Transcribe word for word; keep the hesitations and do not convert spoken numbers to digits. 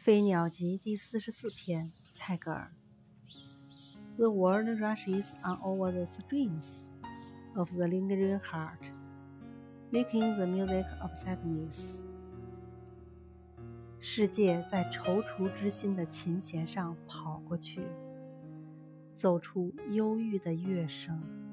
飞鸟集第四十四篇，泰戈尔。The world rushes on over the strings of the lingering heart, making the music of sadness. 世界在踌躇之心的琴弦上跑过去，奏出忧郁的乐声。